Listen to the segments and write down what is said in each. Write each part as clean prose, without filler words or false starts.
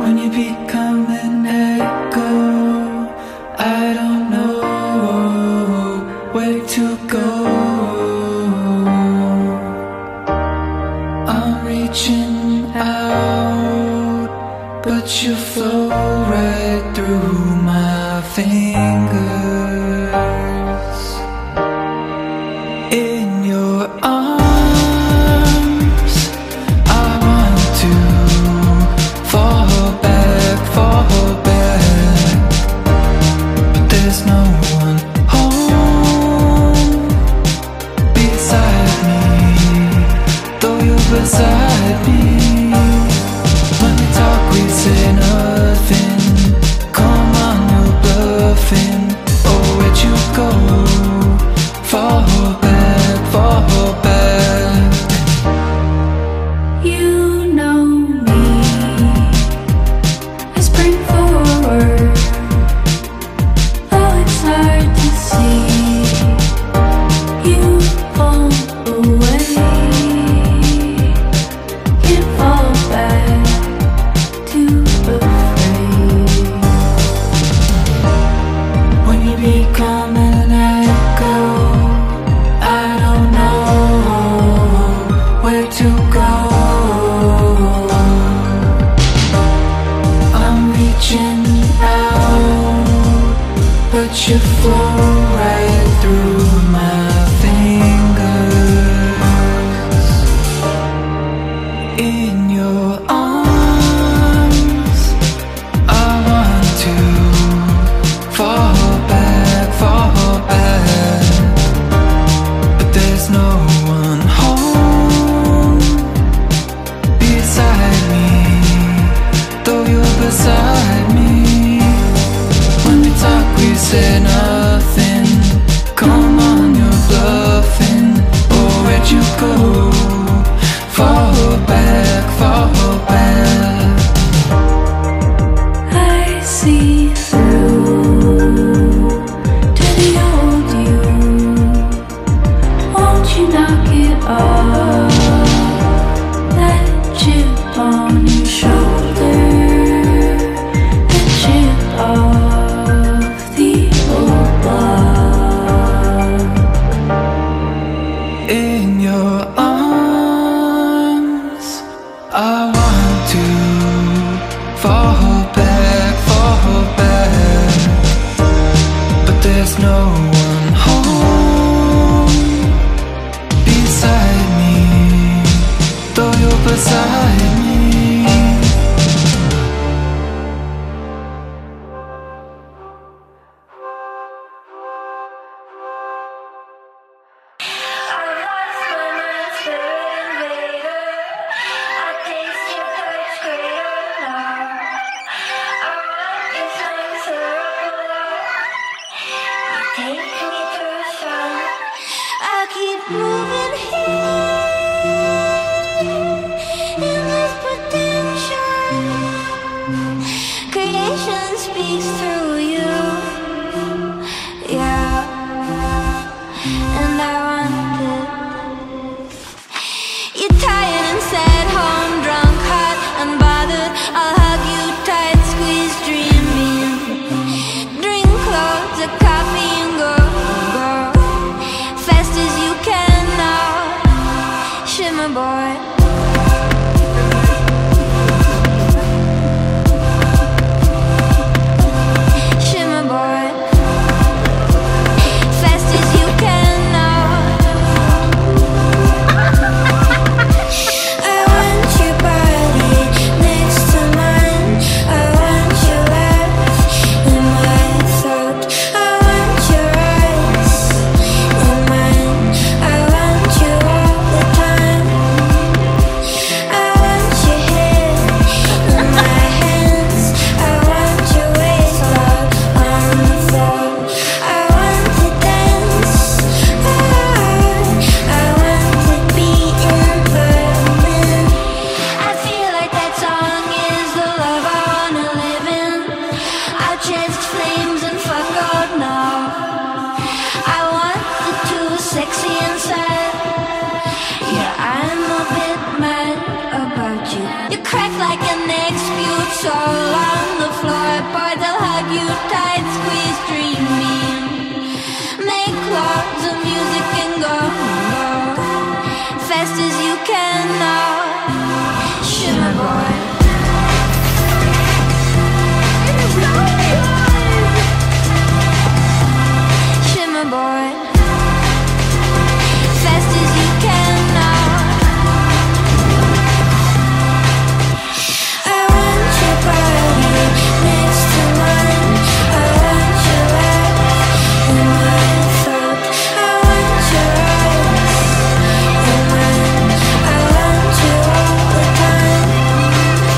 When you become an echo, I don't know where to go. I'm reaching out, but you flow right through my fingers. In your arms, I want to fall back, but there's no one home beside me, though you're beside me. When we talk, we say nothing. Come on, you're bluffing. Oh, where'd you go? Fall back, fall back. You know me, I spring forward, though it's hard to see. You fall away, can't fall back, too afraid. When you become an echo, I don't know where to go. I'm reaching out, but you flow right through my fingers. In your arms, I want to fall back, but there's no one home beside me, though you're beside me. When we talk, we say nothing. Come on, you're bluffing. Oh, where'd you go? Fall back, fall back. I see through to the old you. Won't you knock it off? That chip on your shoulder, the chip off the old block. In your arms, I want to fall back, but there's no one home beside me, though you're beside me. I keep moving here. all on the floor, boy, they'll hug you tight, squeeze, dreaming. Make love to music and go, fast as you can now. Shimmer boy. Shimmer boy. Fast as you can now. I want your body next to mine. I want your life in my throat. I want your eyes in mine. I want you all the time.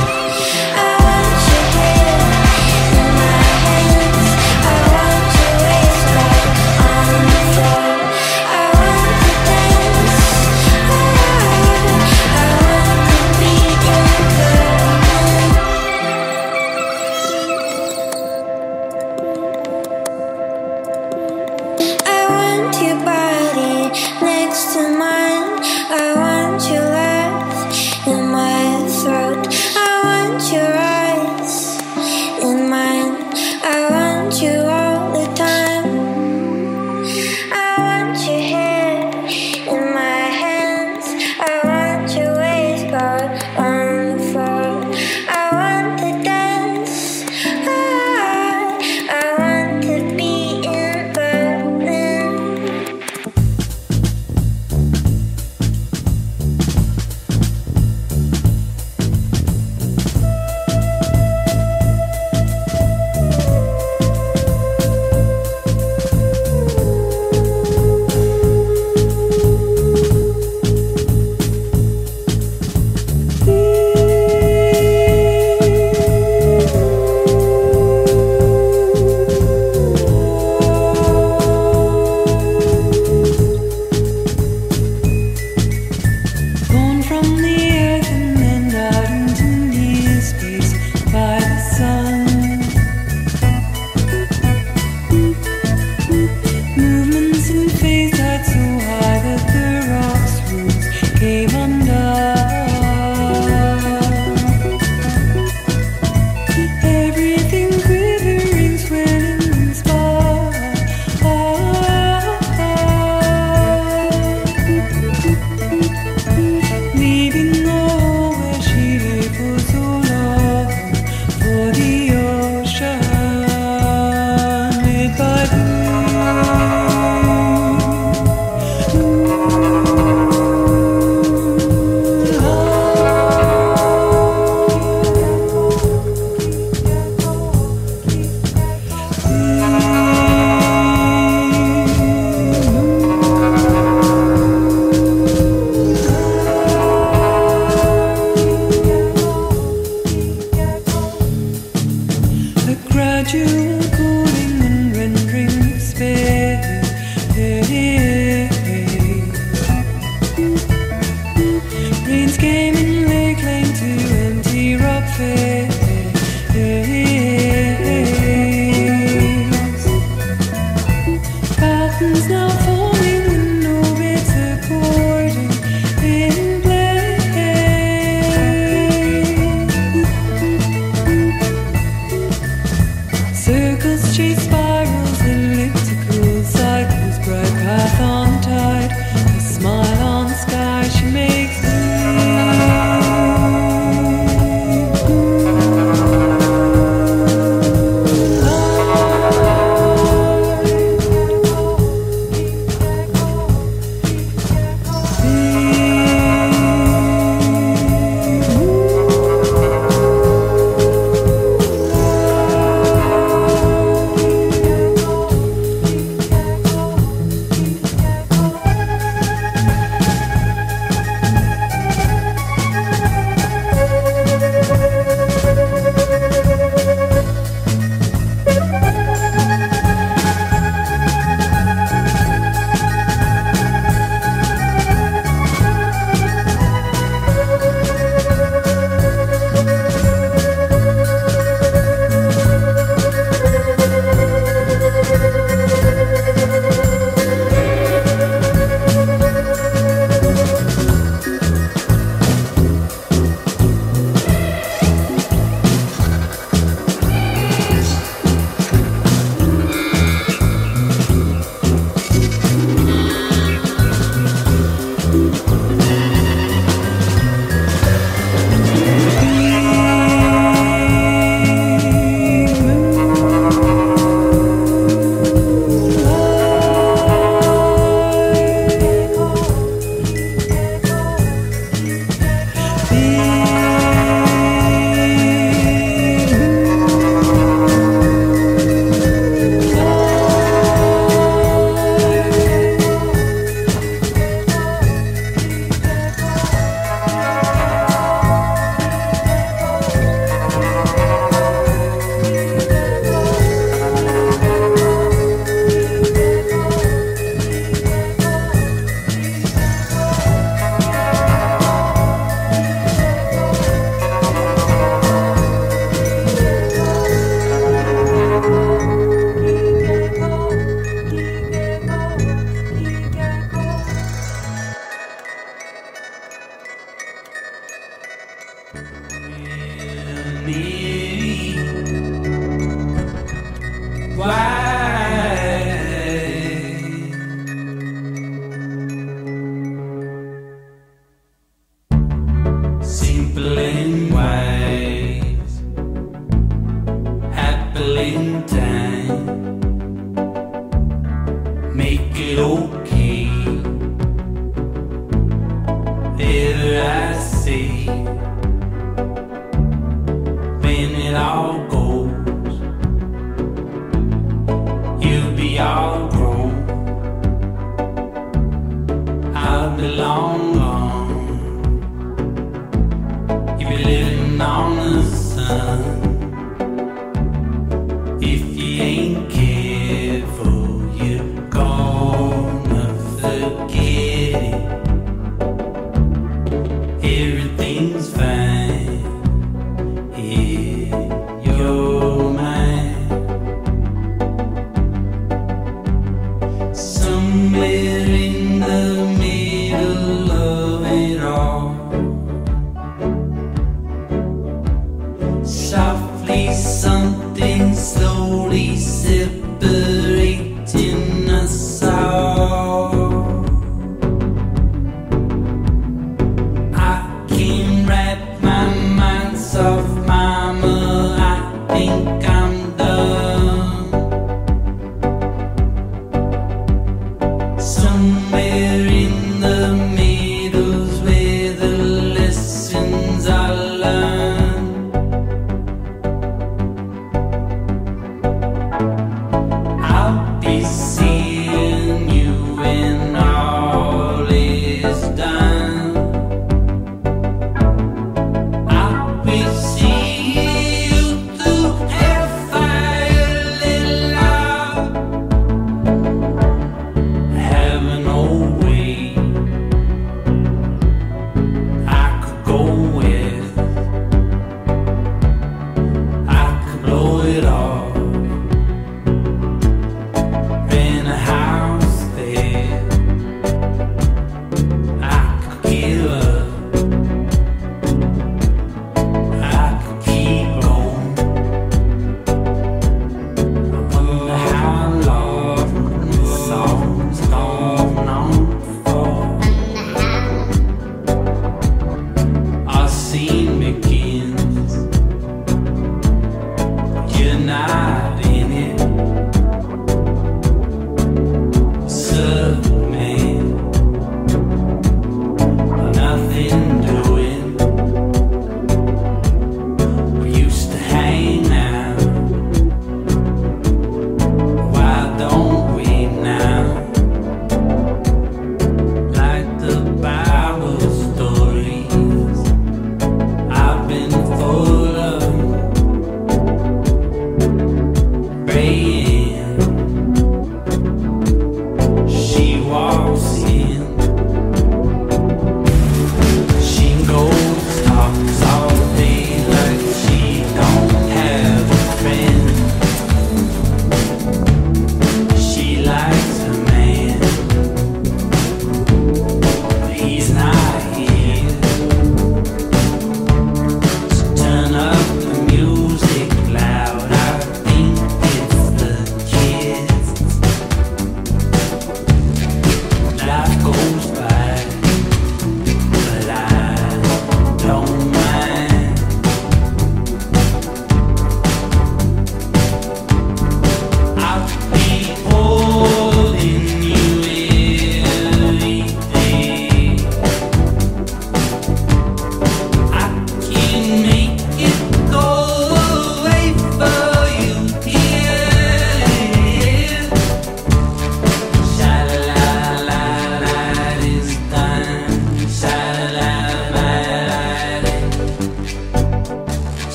me. Why? Simple and wise, happily in time, make it okay. Ever I say, when it all goes, you'll be all grown. I'll be long gone. You'll be living on the sun. If you ain't careful, you're gonna forget it. Everything's fine in your mind. Somewhere in the middle of it all, softly something slowly separating us all. I can't wrap my mind soft, mama, I think I'm done. Somewhere in the middle's where the lessons are learned. I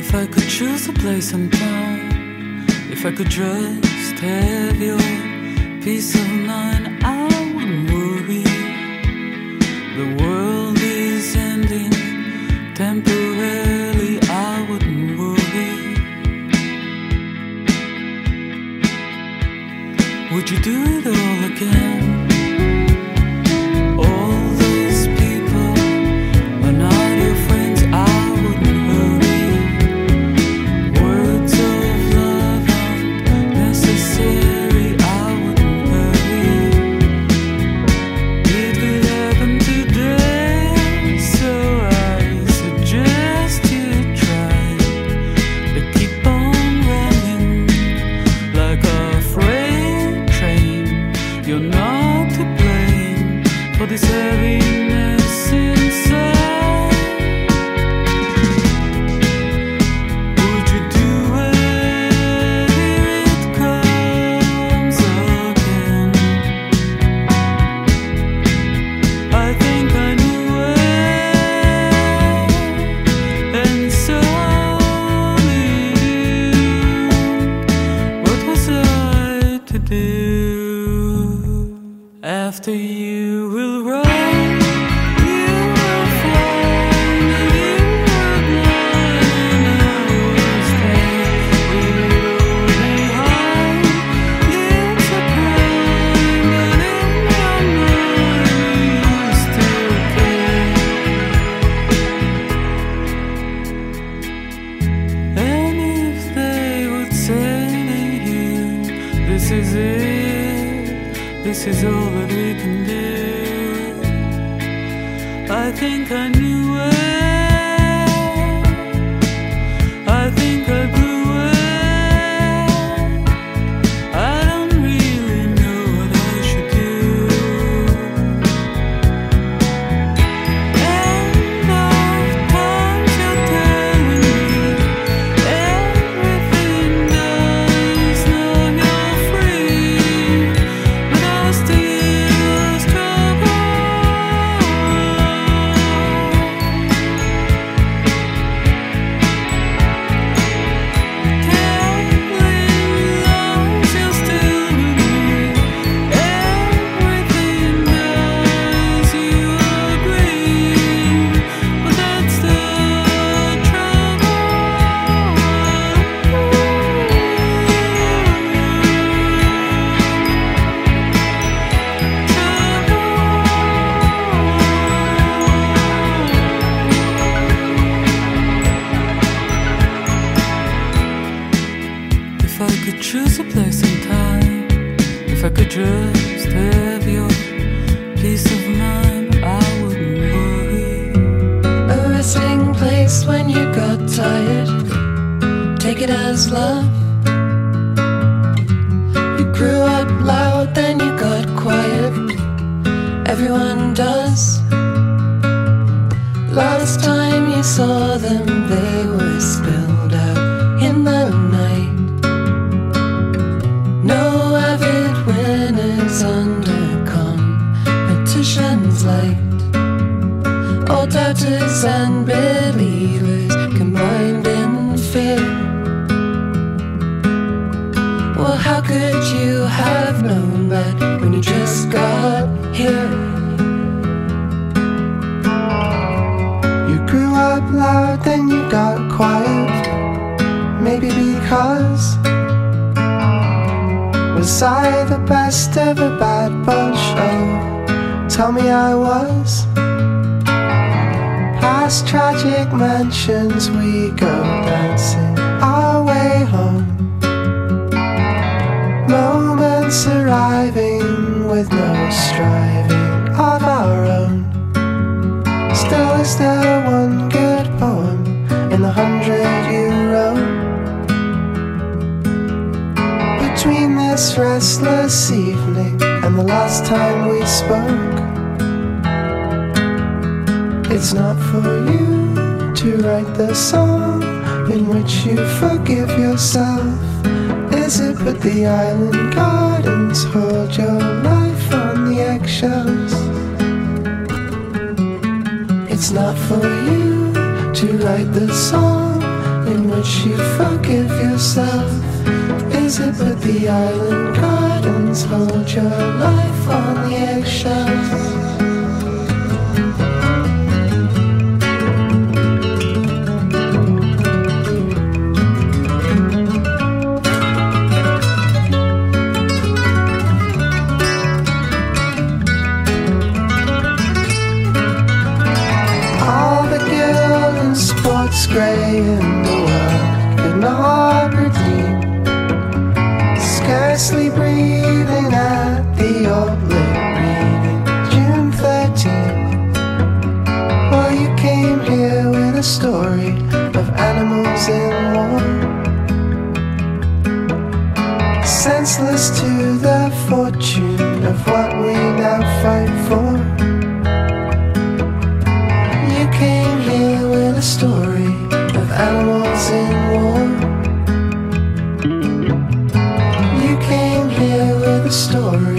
If I could choose a place and time, if I could just have your peace of mind, I wouldn't worry. The world is ending temporarily, I wouldn't worry. Would you do it all again? All those people are not your friends, I wouldn't hurry. Words of love aren't necessary, I wouldn't hurry. It could happen today, so I suggest you try to keep on running like a freight train. You're not to blame for this heaviness inside. Would you do it? Here it comes again. I think I knew it, and so did you. What was I to do? After you will run, you will find that you were blind, and I was there. We were behind, it's a crime, but in my mind we used to care. And if they would say to you, this is it, this is all that we can do, I think I knew it, I think I blew it, I don't really know what I should do. And of times you're telling me everything does, now you're free, but I still struggle. Telling lies, you're still with me. Everything does, you agree, but that's the trouble. If I could choose a place and time, if I could just have your peace of mind, I wouldn't worry. A resting place when you got tired, take it as love. You grew up loud, then you got quiet, everyone does. Last time you saw them, they were spilled out in the night. No avid winners under competition's light. All doubters and believers combined in fear. Well, how could you have known that when you just got here? You grew up loud, then you got quiet. Maybe because was I the best of a bad bunch? Oh, tell me I was. Past tragic mansions we go dancing our way home. Moments arriving with no striving of our own. Still, is there one good poem in the 100 you wrote? Between this restless evening and the last time we spoke, it's not for you to write the song in which you forgive yourself. Is it but the island gardens hold your life on the eggshells? It's not for you to write the song in which you forgive yourself? Is it but the island gardens hold your life on the eggshells? Sports grey in the world could not redeem. Scarcely breathing at the old lit reading, June 13th. Well, you came here with a story of animals in war, senseless to the fortune of what we now fight for. You came here with a story of animals in war. You came here with a story.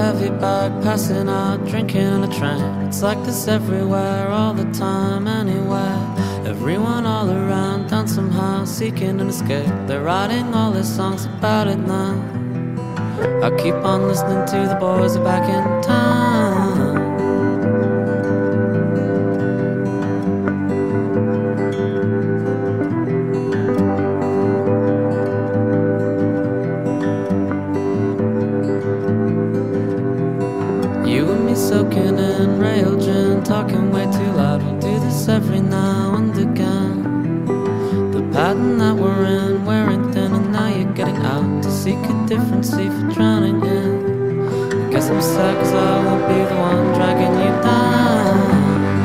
heavy bag, passing out, drinking on a train. It's like this everywhere, all the time, anywhere. Everyone all around, down somehow, seeking an escape. They're writing all their songs about it now. I'll keep on listening to the boys are back in town. Soaking in rail gin, talking way too loud. We'll do this every now and again. The pattern that we're in, wearing thin, and now you're getting out to seek a different sea for drowning in. I guess I'm sad 'cause I won't be the one dragging you down.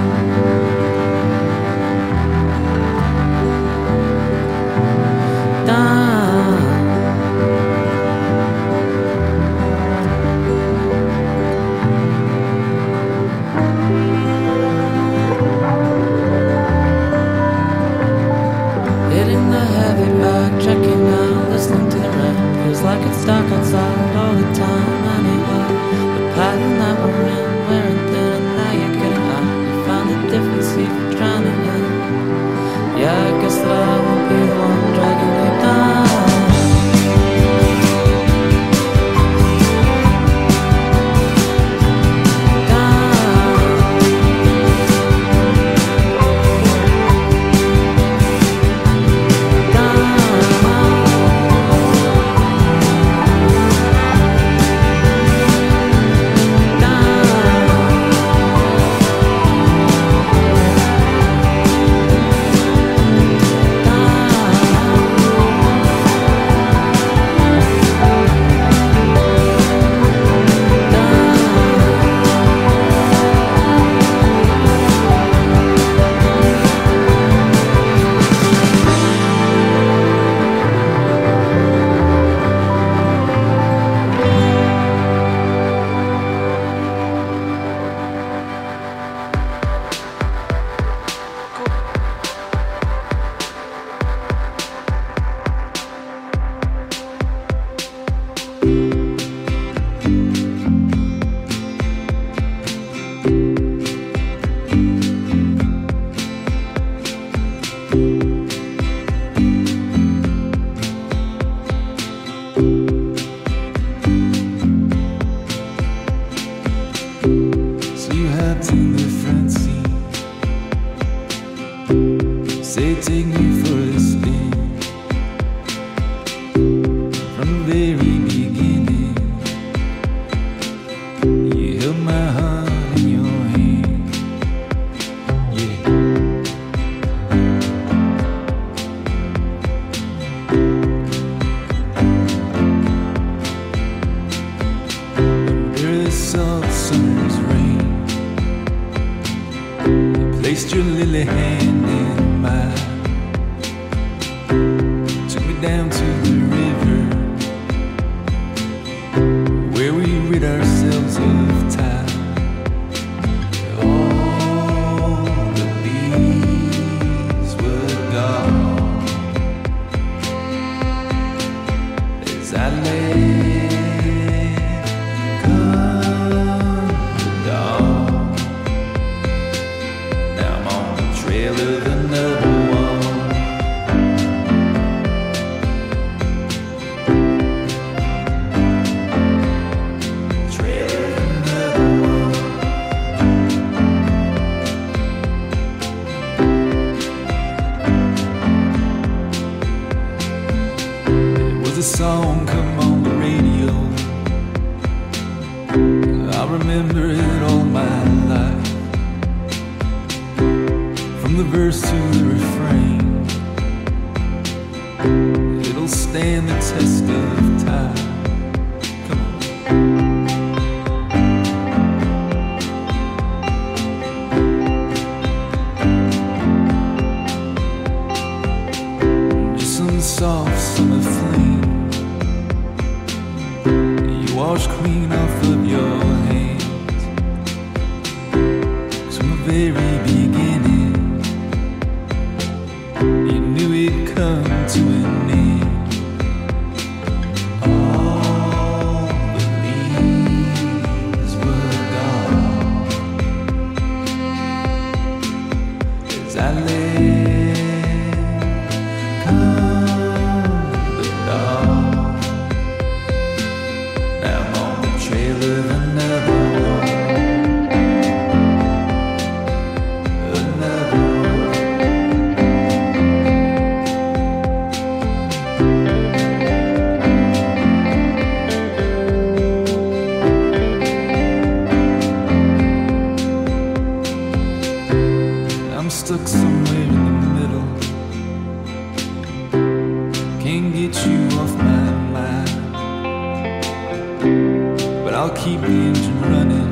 Checking out, listening to the rain. Feels like it's dark outside all the time anyway. The pattern that we're in, wearing thin, and now you're getting out. You found a different sea for drowning in. Yeah, I guess that I won't be the one dragging you down. To an end. All believe sadly come the dawn. Now I'm on the trail of another one. Another one. I'm stuck somewhere in the middle. Can't get you off my mind, but I'll keep the engine running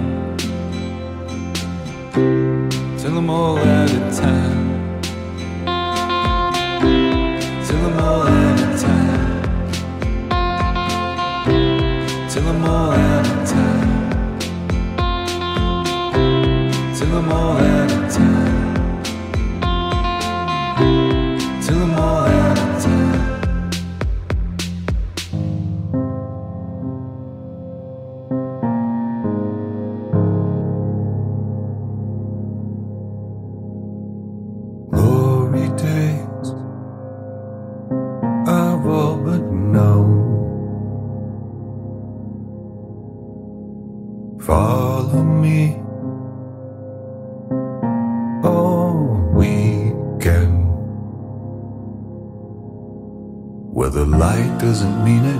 till I'm all out of time. Till I'm all out of time. Till I'm all out of time. Till I'm all out of time. Till I'm all out of time. Glory days are all but known. Follow me all weekend, where the light doesn't mean it,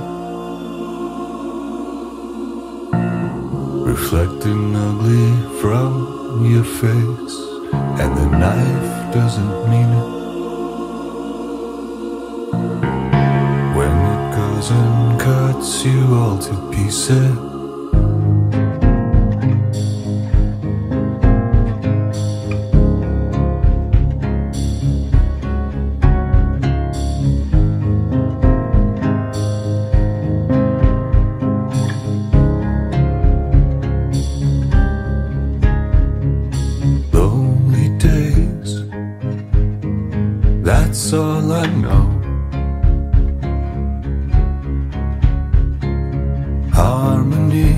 reflecting ugly from your face, and the knife doesn't mean it, when it goes and cuts you all to pieces. Lonely days, that's all I know. Harmony,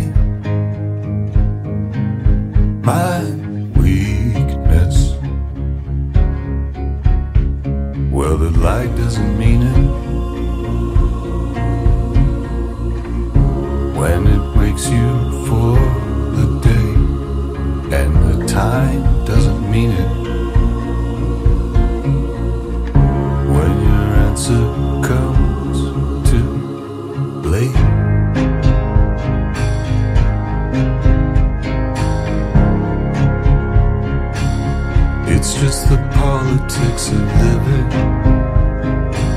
my weakness. Well, the light doesn't mean it, when it wakes you for the day, and the time doesn't mean it, when your answer comes too late. It's just the politics of living.